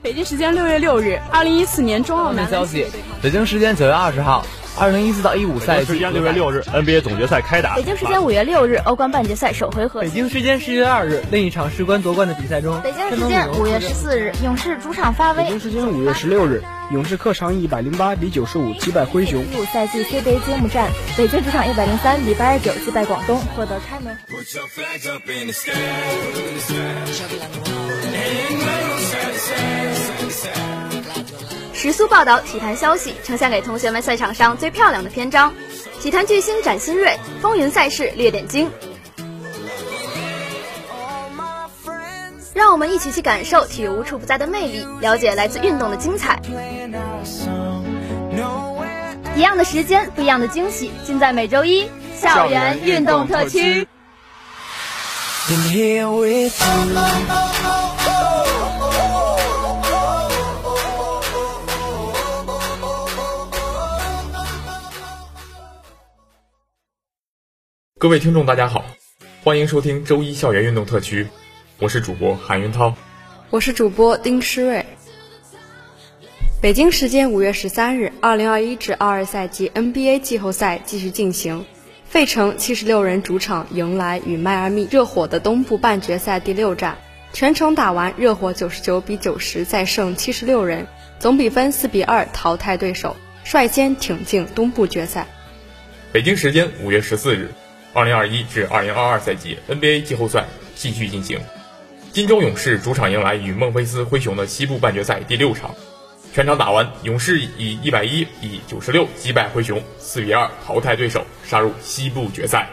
北京时间6月6日，2014年中澳男消息，北京时间9月20号，2014到15赛季。 北京时间6月6日 ，NBA 总决赛开打。 北京时间5月6日，欧冠半决赛首回合。 北京时间10月2日，另一场事关夺冠的比赛中。 北京时间5月14日，勇士主场发威。 北京时间5月16日，勇士客场108比95击败灰熊。 15赛季 CBA 揭幕战，北京主场103比89击败广东，获得开门。 时速报道体坛消息，呈现给同学们赛场上最漂亮的篇章。体坛巨星展新锐，风云赛事列点睛。让我们一起去感受体育无处不在的魅力，了解来自运动的精彩。一样的时间，不一样的惊喜，尽在每周一校园运动特区。 各位听众大家好，欢迎收听周一校园运动特区，我是主播韩云涛， 我是主播丁诗睿。北京时间5月13日，2021-22赛季 NBA 季后赛继续进行，费城76人主场迎来与迈阿密热火的东部半决赛第6战，全程打完，热火99比90再胜76人，总比分4比2淘汰对手，率先挺进东部决赛。 北京时间5月14日，2021-2022赛季 NBA 季后赛继续进行，金州勇士主场迎来与孟菲斯灰熊的西部半决赛第6场，全场打完，勇士以110比96击败灰熊，4比2淘汰对手，杀入西部决赛。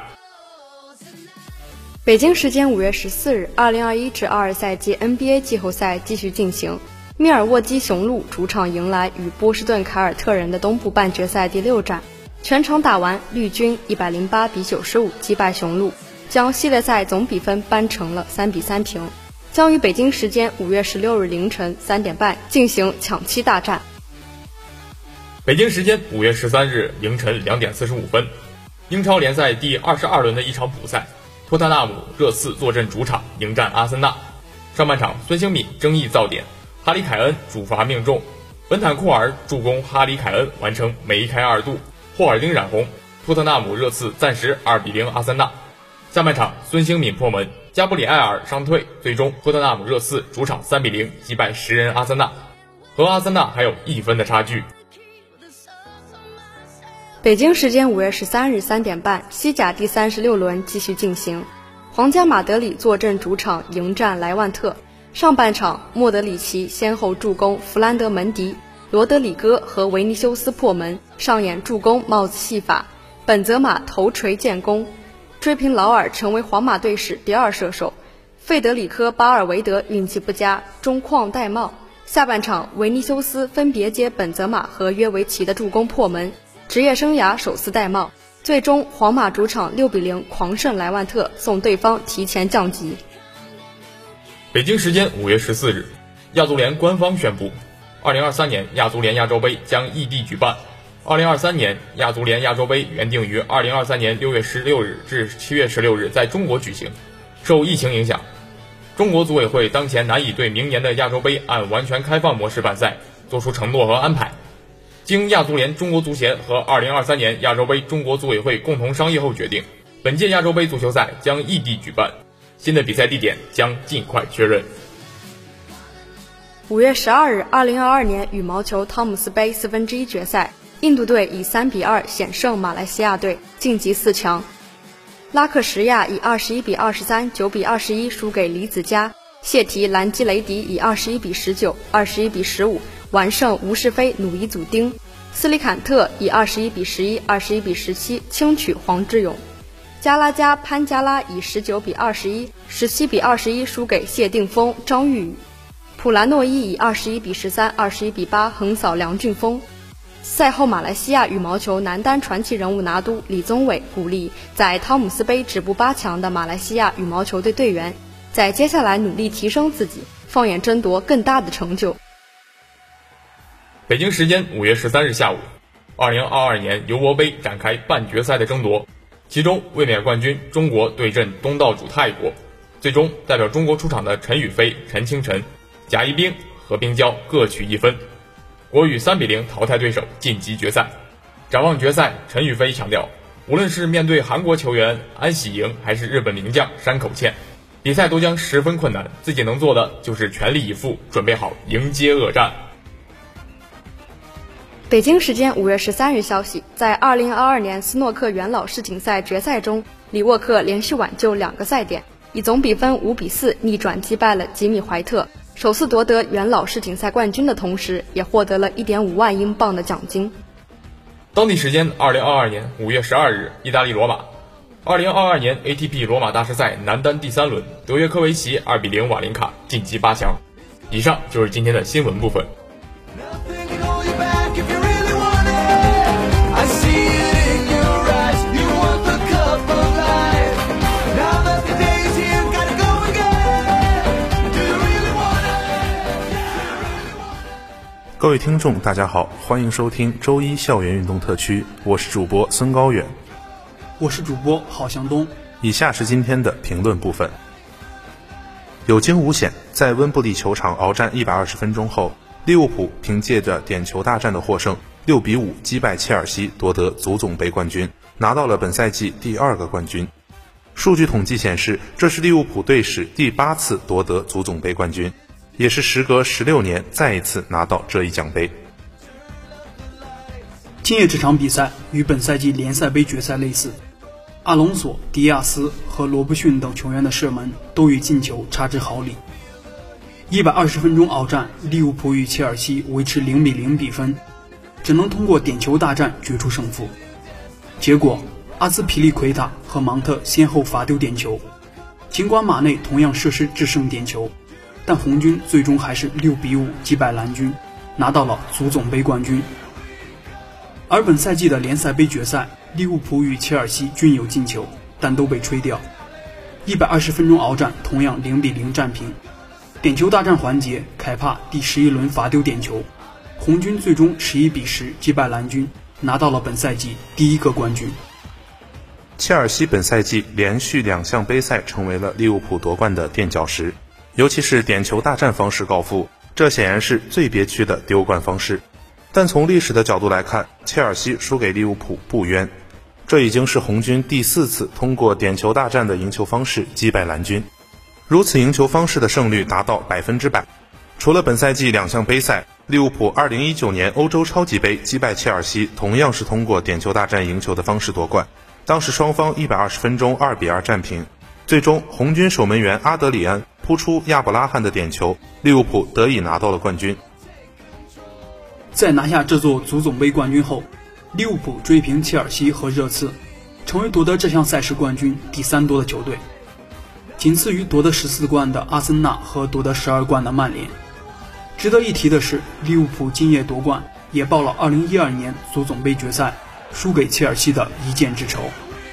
北京时间5月14日，2021-22赛季 NBA 季后赛继续进行，密尔沃基雄鹿主场迎来与波士顿凯尔特人的东部半决赛第6战，全场打完，绿军108比95击败雄鹿，将系列赛总比分扳成了3比3平，将于北京时间5月16日凌晨3点半进行抢七大战。 北京时间5月13日凌晨2点45分，英超联赛第22轮的一场补赛，托特纳姆热刺坐镇主场迎战阿森纳。上半场孙兴敏争议造点，哈里凯恩主罚命中，本坦库尔助攻哈里凯恩完成梅开2度，霍尔丁染红，托特纳姆热刺暂时2比0阿森纳。下半场孙兴敏破门，加布里埃尔伤退，最终托特纳姆热刺主场3比0击败10人阿森纳，和阿森纳还有1分的差距。 北京时间5月13日3点半，西甲第36轮继续进行，皇家马德里坐镇主场迎战莱万特。上半场莫德里奇先后助攻弗兰德门迪、罗德里戈和维尼修斯破门，上演助攻帽子戏法，本泽马头锤建功，追平劳尔成为皇马队史第2射手。费德里科·巴尔维德运气不佳，中框戴帽。下半场维尼修斯分别接本泽马和约维奇的助攻破门，职业生涯首次戴帽，最终皇马主场6比0狂胜莱万特，送对方提前降级。 北京时间5月14日，亚足联官方宣布2023年亚足联亚洲杯将异地举办。2023年亚足联亚洲杯原定于2023年6月16日至7月16日在中国举行，受疫情影响，中国组委会当前难以对明年的亚洲杯按完全开放模式办赛做出承诺和安排。经亚足联中国足协和2023年亚洲杯中国组委会共同商议后决定，本届亚洲杯足球赛将异地举办，新的比赛地点将尽快确认。 5月12日，2022年羽毛球汤姆斯杯1/4决赛，印度队以3比2险胜马来西亚队，晋级4强。拉克什亚以21比23、9比21输给李子嘉，谢提兰基雷迪以21比19、21比15完胜吴世飞努伊祖丁，斯里坎特以21比11、21比17轻取黄志勇，加拉加潘加拉以19比21、17比21输给谢定峰张玉宇，普兰诺伊以21比13、21比8横扫梁俊峰。赛后，马来西亚羽毛球男单传奇人物拿督李宗伟鼓励在汤姆斯杯止步8强的马来西亚羽毛球队队员，在接下来努力提升自己，放眼争夺更大的成就。 北京时间5月13日下午，2022年尤伯杯展开半决赛的争夺，其中卫冕冠军中国对阵东道主泰国，最终代表中国出场的陈雨菲、陈清晨、贾一冰和冰胶各取1分，国羽3-0淘汰对手晋级决赛。展望决赛，陈雨菲强调，无论是面对韩国球员安喜莹还是日本名将山口茜，比赛都将十分困难，自己能做的就是全力以赴，准备好迎接恶战。 北京时间5月13日消息，在2022年斯诺克元老世锦赛决赛中，李沃克连续挽救2个赛点，以总比分5-4逆转击败了吉米怀特，首次夺得元老世锦赛冠军的同时，也获得了1.5万英镑的奖金。 当地时间2022年5月12日，意大利罗马，2022年 ATP 罗马大师赛男单第3轮，德约科维奇2-0瓦林卡晋级8强。以上就是今天的新闻部分。 各位听众大家好，欢迎收听周一校园运动特区，我是主播孙高远， 我是主播郝向东。 以下是今天的评论部分。有惊无险，在温布利球场鏖战120分钟后，利物浦凭借着点球大战的获胜，6-5击败切尔西夺得足总杯冠军，拿到了本赛季第2个冠军。数据统计显示，这是利物浦队史第8次夺得足总杯冠军，也是时隔16年再一次拿到这一奖杯。 今夜这场比赛与本赛季联赛杯决赛类似，阿隆索、迪亚斯和罗布逊等球员的射门都与进球差之毫厘。120分钟鏖战，利物浦与切尔西维持0-0比分，只能通过点球大战决出胜负。结果阿兹皮利奎塔和芒特先后罚丢点球，尽管马内同样射失制胜点球，但红军最终还是6-5击败蓝军，拿到了足总杯冠军。而本赛季的联赛杯决赛，利物浦与切尔西均有进球，但都被吹掉。120分钟鏖战同样0-0战平。点球大战环节，凯帕第11轮罚丢点球，红军最终11-10击败蓝军，拿到了本赛季第1个冠军。 切尔西本赛季连续2项杯赛成为了利物浦夺冠的垫脚石，尤其是点球大战方式告负，这显然是最憋屈的丢冠方式。但从历史的角度来看，切尔西输给利物浦不冤，这已经是红军第4次通过点球大战的赢球方式击败蓝军，如此赢球方式的胜率达到100%。除了本赛季2项杯赛，利物浦2019年欧洲超级杯击败切尔西同样是通过点球大战赢球的方式夺冠，当时双方120分钟2-2战平，最终红军守门员阿德里安扑出亚伯拉罕的点球，利物浦得以拿到了冠军。 在拿下这座足总杯冠军后，利物浦追平切尔西和热刺，成为夺得这项赛事冠军第3多的球队，仅次于夺得14冠的阿森纳和夺得12冠的曼联。值得一提的是，利物浦今夜夺冠也报了2012年足总杯决赛输给切尔西的一箭之仇。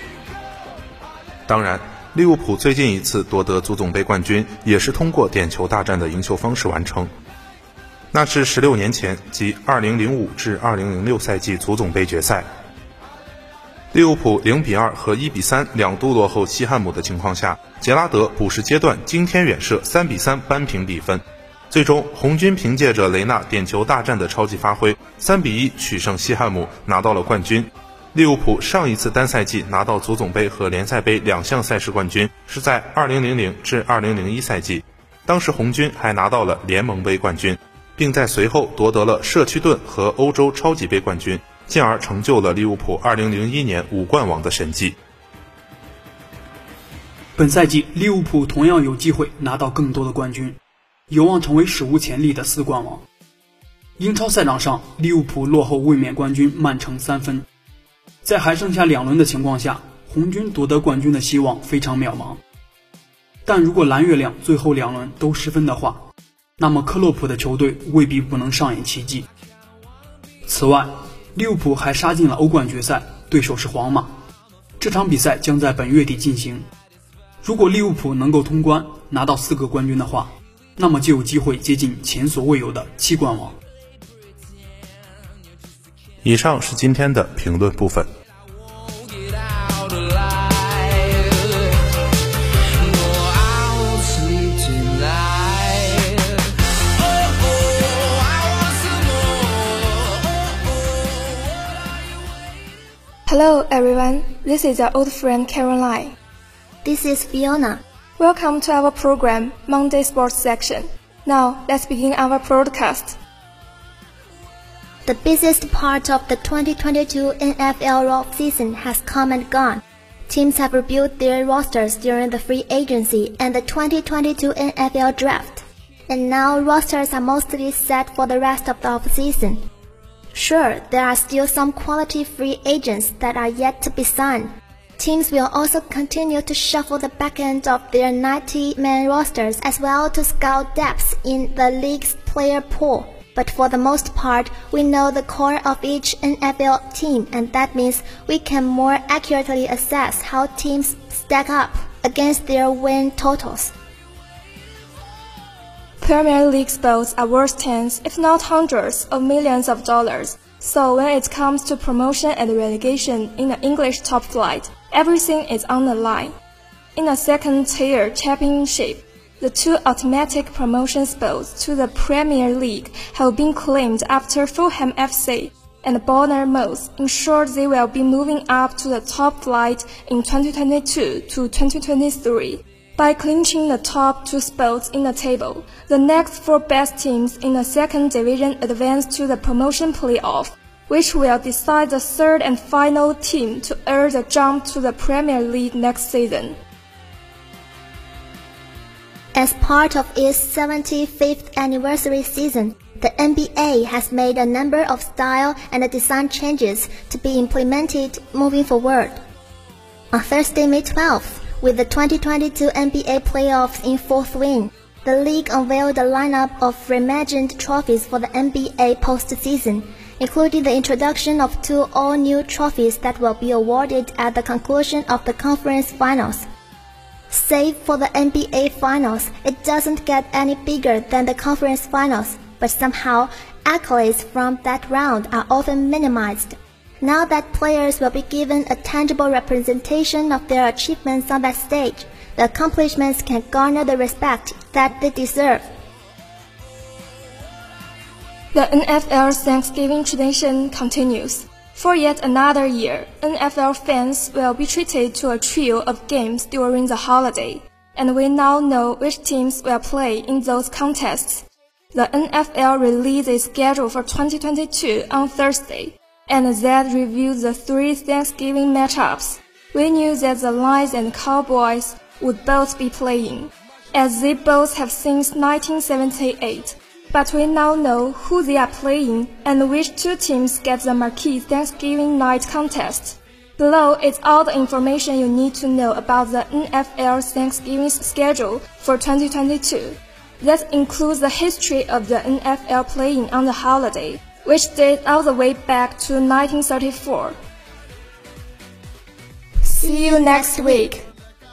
当然，利物浦最近一次夺得足总杯冠军也是通过点球大战的赢球方式完成，那是16年前，即2005至2006赛季足总杯决赛。利物浦0-2和1-3两度落后西汉姆的情况下，杰拉德补时阶段惊天远射3-3扳平比分，最终红军凭借着雷纳点球大战的超级发挥3-1取胜西汉姆，拿到了冠军。利物浦上一次单赛季拿到足总杯和联赛杯2项赛事冠军是在2000至2001赛季，当时红军还拿到了联盟杯冠军，并在随后夺得了社区盾和欧洲超级杯冠军，进而成就了利物浦2001年5冠王的神迹。 本赛季利物浦同样有机会拿到更多的冠军，有望成为史无前例的4冠王。英超赛场上，利物浦落后卫冕冠军曼城3分，在还剩下2轮的情况下，红军夺得冠军的希望非常渺茫。但如果蓝月亮最后2轮都失分的话，那么克洛普的球队未必不能上演奇迹。此外，利物浦还杀进了欧冠决赛，对手是皇马，这场比赛将在本月底进行。如果利物浦能够通关拿到4个冠军的话，那么就有机会接近前所未有的7冠王。 以上是今天的评论部分。 Hello everyone, this is your old friend Caroline. This is Fiona. Welcome to our program, Monday Sports Section. Now, let's begin our broadcast. The busiest part of the 2022 NFL off-season has come and gone. Teams have rebuilt their rosters during the free agency and the 2022 NFL draft. And now rosters are mostly set for the rest of the off-season. Sure, there are still some quality free agents that are yet to be signed. Teams will also continue to shuffle the back end of their 90-man rosters as well to scout depths in the league's player pool. But for the most part, we know the core of each NFL team, and that means we can more accurately assess how teams stack up against their win totals. Premier League spots are worth tens, if not hundreds, of millions of dollars. So when it comes to promotion and relegation in the English top flight, everything is on the line. In the second-tier championship, the two automatic promotion spots to the Premier League have been claimed after Fulham FC and Bournemouth ensured they will be moving up to the top flight in 2022 to 2023. By clinching the top two spots in the table, the next four best teams in the second division advance to the promotion playoff, which will decide the third and final team to earn the jump to the Premier League next season. As part of its 75th anniversary season, the NBA has made a number of style and design changes to be implemented moving forward. On Thursday, May 12th, with the 2022 NBA playoffs in full swing, the league unveiled a lineup of reimagined trophies for the NBA postseason, including the introduction of two all-new trophies that will be awarded at the conclusion of the conference finals. Save for the NBA Finals, it doesn't get any bigger than the conference finals, but somehow accolades from that round are often minimized. Now that players will be given a tangible representation of their achievements on that stage, the accomplishments can garner the respect that they deserve. The NFL's Thanksgiving tradition continues. For yet another year, NFL fans will be treated to a trio of games during the holiday, and we now know which teams will play in those contests. The NFL released its schedule for 2022 on Thursday, and that revealed the three Thanksgiving matchups. We knew that the Lions and Cowboys would both be playing, as they both have since 1978. But we now know who they are playing and which two teams get the marquee Thanksgiving night contest. Below is all the information you need to know about the NFL's Thanksgiving schedule for 2022. That includes the history of the NFL playing on the holiday, which dates all the way back to 1934. See you next week.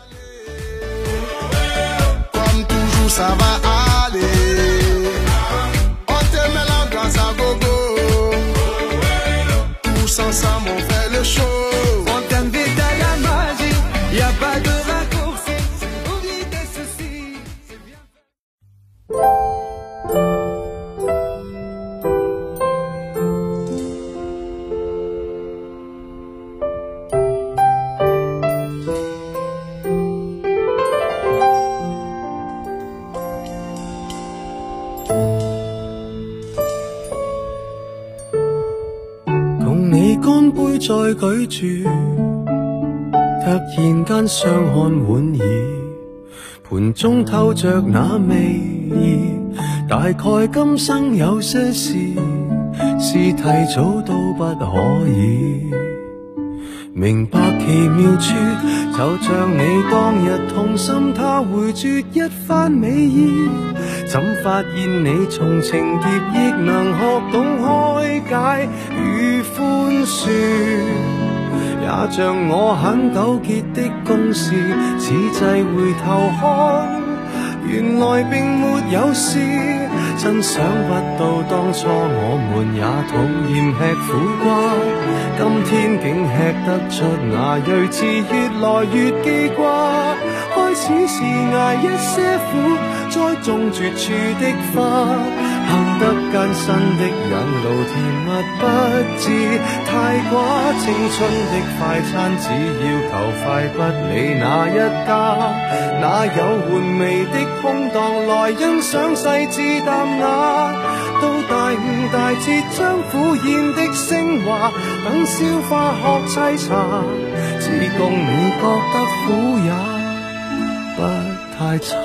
Ensemble on fait le show. On t'invite à la magie, y a pas de raccourci. Oublie tes soucis, c'est bien.乾杯再舉住，突然間相看莞爾，盤中透着那味意，大概今生有些事是提早都不可以。明白奇妙處，就像你當日痛心他回絕一番美意，怎發現你從情劫亦能學懂開解與寬恕，也像我很糾結的公事，此際回頭看，原來並沒有事。真想不到當初我們也討厭吃苦瓜，今天竟吃得出那睿智，越來越記掛。開始是捱一些苦，栽種絕處的花，行得艱辛的引路，甜蜜不致太寡。青春的快餐只要求快，不理哪一家，哪有玩味的空檔來欣賞細緻淡雅。到大悟大徹將苦宴的升華，等消化學沏茶，只供你覺得苦也不太差。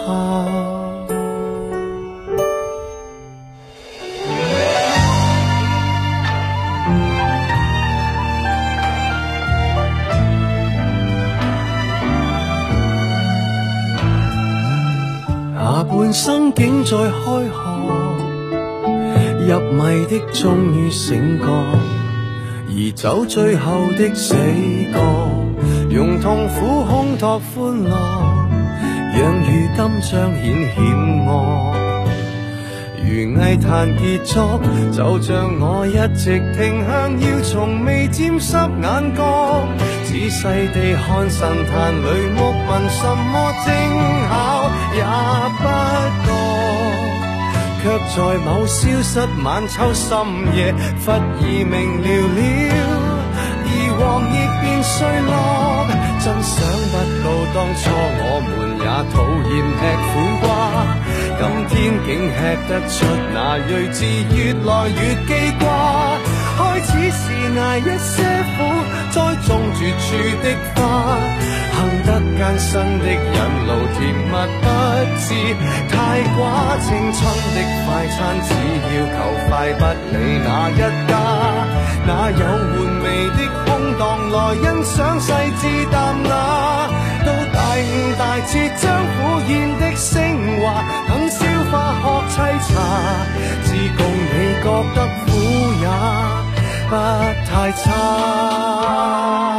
下半生竟在開學，入迷的終於醒覺，而走最後的死角，用痛苦烘托歡樂，讓如今彰顯險惡。如藝壇傑作，就像我一直停向，要從未沾濕眼角，仔細地看神壇裏木紋，什麼精巧也不覺，卻在某消失晚秋深夜，忽而明了而黃葉變碎落。真想不到當初我們也討厭吃苦瓜，今天竟吃得出那睿智，越來越記掛。開始是捱一些苦，栽種絕處的花，行得艱辛的引路，甜蜜不致太寡。青春的快餐只要求快，不理哪一家，哪有玩味的空檔來欣賞細緻淡雅。到大悟大徹將苦宴的升華，等消化學沏茶，只供你覺得苦也不太差。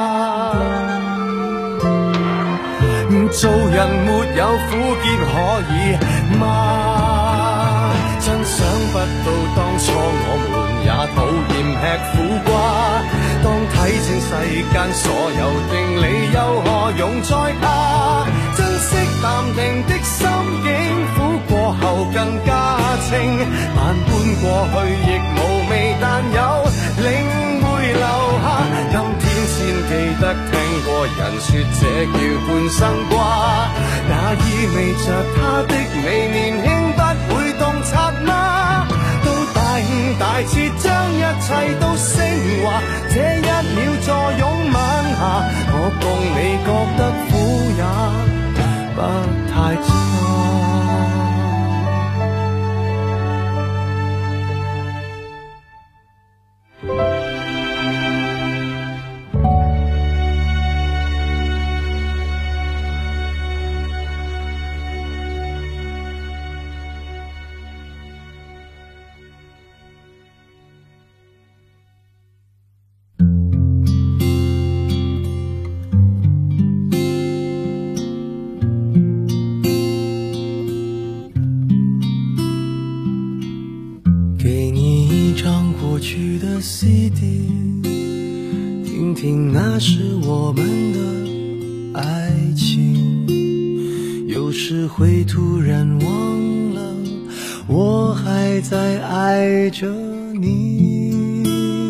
做人沒有苦澀可以嗎？真想不到當初我們也討厭吃苦瓜，當睇清世間所有定理，又何用再怕？珍惜淡定的心境，苦過後更加清，萬般過去亦無味，但有領會留下。今天先記得聽過人說這叫半生瓜，那意味着他的美年輕不會洞察嗎？到大悟大徹將一切都升華，這一秒坐擁晚霞，我共你覺得苦也不太差。CD， 听听那是我们的爱情，有时会突然忘了我还在爱着你。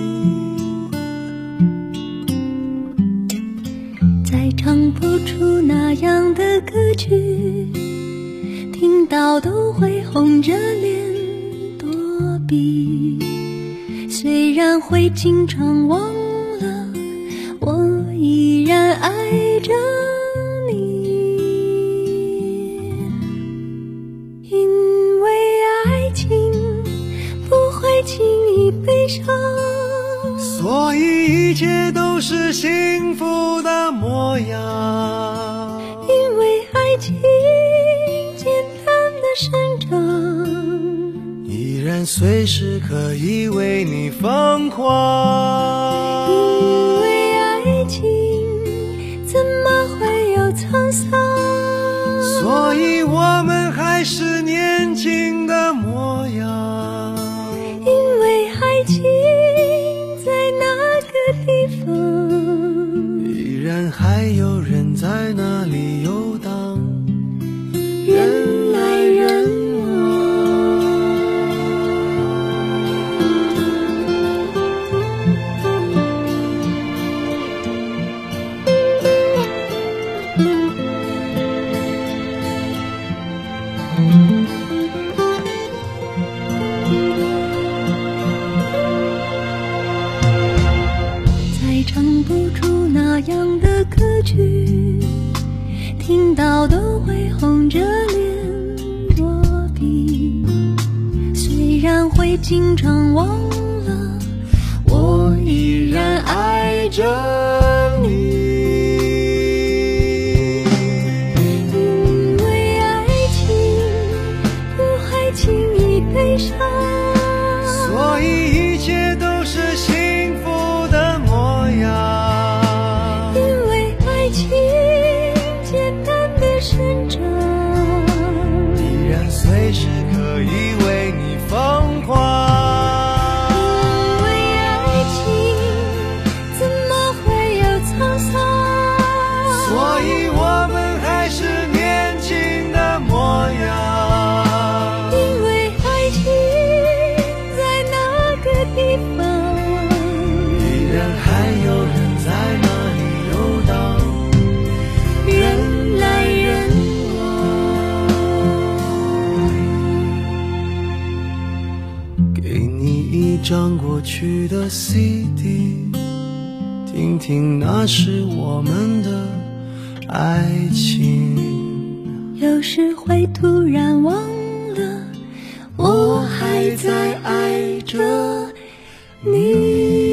再唱不出那样的歌曲，听到都会红着脸躲避。虽然会经常忘了，我依然爱着你。因为爱情不会轻易悲伤， 所以一切都是幸福的模样。 因为爱情简单的生长， 依然随时可以为你疯狂。 因为爱情怎么会有沧桑， 所以我们还是年轻的模样。 因为爱情在那个地方， 依然还有人在那里游荡。 那样的歌曲，听到都会红着脸躲避。虽然会经常忘了，我依然爱着你。因为爱情不会轻易悲伤， 所以一切都是幸福的模样。 因为爱情简单的生长， 依然随时可以为你疯狂。 因为爱情怎么会有沧桑， 所以我们还是年轻的模样。 因为爱情在那个地方， 依然还有人在那里游荡， 人来人往。 给你一张过去的 CD， 听听那是我们的爱情。 有时会突然忘了，我还在爱着你。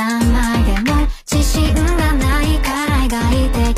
何枚でも自信がないから描いて